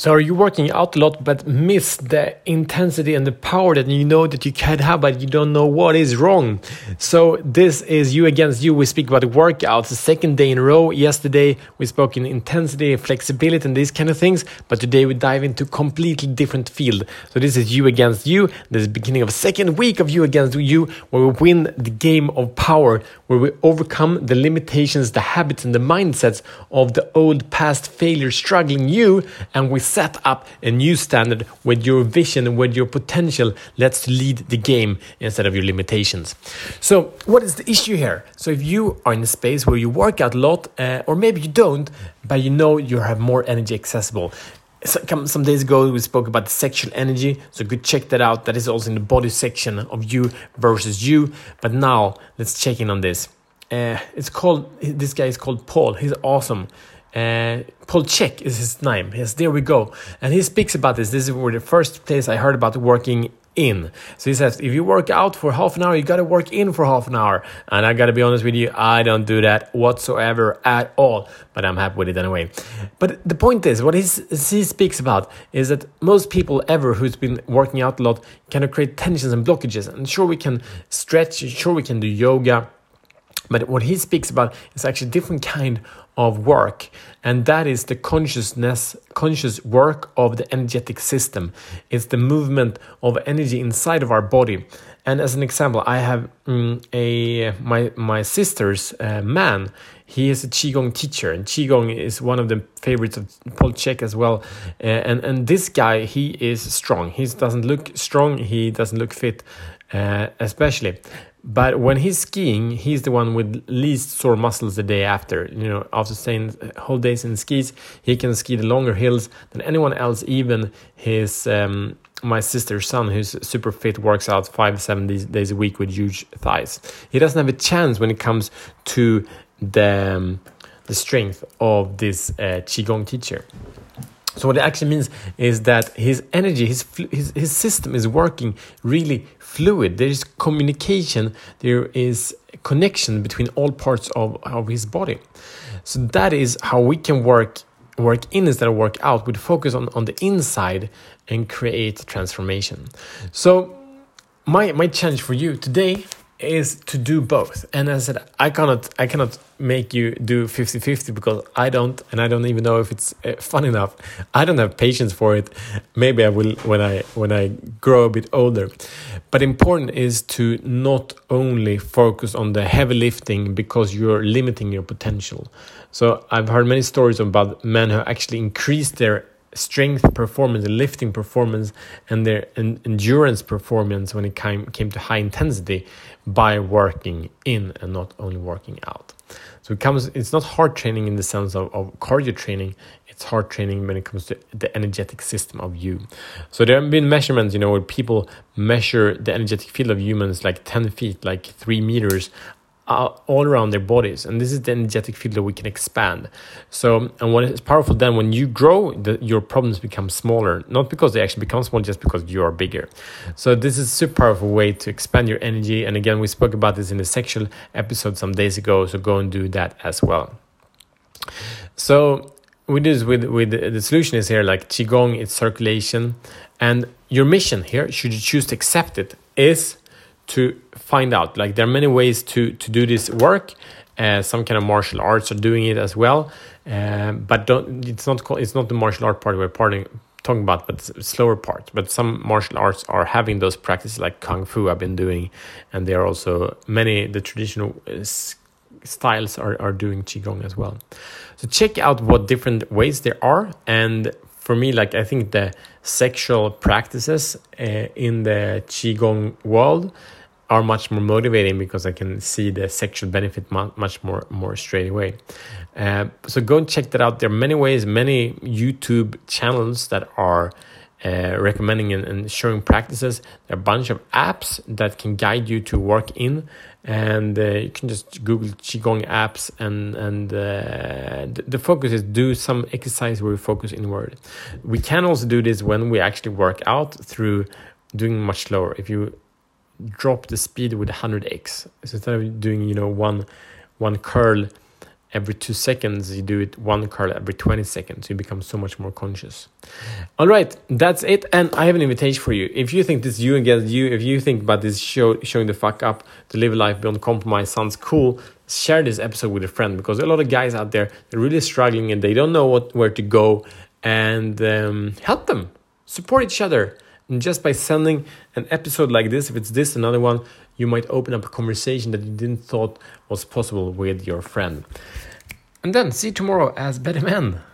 So are you working out a lot but miss the intensity and the power that you know that you can have, but you don't know what is wrong? So this is You Against You. We speak about workouts the second day in a row. Yesterday we spoke in intensity, flexibility and these kind of things, but today we dive into completely different field. So this is You Against You. This is the beginning of a second week of You Against You, where we win the game of power, where we overcome the limitations, the habits and the mindsets of the old past failure struggling you, and we set up a new standard with your vision and with your potential. Let's lead the game instead of your limitations. So what is the issue here? So if you are in a space where you work out a lot, or maybe you don't, but you know you have more energy accessible. Some days ago we spoke about the sexual energy, so go check that out. That is also in the body section of You versus You. But now let's check in on this. This guy is called Paul. He's awesome. Paul Chek is his name. Yes, there we go. And he speaks about this. This is where the first place I heard about working in. So he says, if you work out for half an hour, you got to work in for half an hour. And I got to be honest with you, I don't do that whatsoever at all. But I'm happy with it anyway. But the point is, what he speaks about is that most people ever who's been working out a lot kind of create tensions and blockages. And sure, we can stretch. Sure, we can do yoga. But what he speaks about is actually a different kind of work, and that is the conscious work of the energetic system. It's the movement of energy inside of our body. And as an example, I have my sister's man. He is a Qigong teacher, and Qigong is one of the favorites of Paul Chek as well. And this guy, he is strong. He doesn't look strong. He doesn't look fit, especially. But when he's skiing, he's the one with least sore muscles the day after. You know, after staying whole days in skis, he can ski the longer hills than anyone else. Even his my sister's son, who's super fit, works out 5-7 days a week with huge thighs. He doesn't have a chance when it comes to the strength of this Qigong teacher. So what it actually means is that his energy, his system is working really fluid. There is communication, there is connection between all parts of his body. So that is how we can work in instead of work out. We focus on the inside and create transformation. So my challenge for you today is to do both. And as I said, I cannot make you do 50-50 because I don't even know if it's fun enough. I don't have patience for it. Maybe I will when I grow a bit older. But important is to not only focus on the heavy lifting because you're limiting your potential. So I've heard many stories about men who actually increased their strength performance, lifting performance, and their endurance performance when it came to high intensity by working in and not only working out. So it's not hard training in the sense of cardio training. It's hard training when it comes to the energetic system of you. So there have been measurements, where people measure the energetic field of humans like 10 feet, like 3 meters, all around their bodies, and this is the energetic field that we can expand. So, and what is powerful then, when you grow, your problems become smaller, not because they actually become small, just because you are bigger. So this is a super powerful way to expand your energy. And again, we spoke about this in the sexual episode some days ago, so go and do that as well. So with the solution is here, like Qigong, it's circulation, and your mission here, should you choose to accept it, is to find out, like, there are many ways to do this work. Some kind of martial arts are doing it as well, but it's not the martial art part we're talking about, but the slower part. But some martial arts are having those practices, like Kung Fu I've been doing, and there are also the traditional styles are doing Qigong as well. So check out what different ways there are. And for me, like, I think the sexual practices in the Qigong world are much more motivating because I can see the sexual benefit much more straight away. So go and check that out. There are many ways, many YouTube channels that are recommending and showing practices. There are a bunch of apps that can guide you to work in, and you can just Google Qigong apps, and the focus is do some exercise where we focus inward. We can also do this when we actually work out through doing much slower. If you drop the speed with 100x, so instead of doing one curl every 2 seconds, you do it 1 card every 20 seconds. You become so much more conscious. All right, that's it. And I have an invitation for you. If you think this is you against you, if you think about this show, showing the fuck up to live a life beyond compromise sounds cool, share this episode with a friend, because a lot of guys out there, they're really struggling and they don't know where to go, and help them. Support each other. And just by sending an episode like this, if it's this, another one, you might open up a conversation that you didn't thought was possible with your friend. And then see you tomorrow as better men.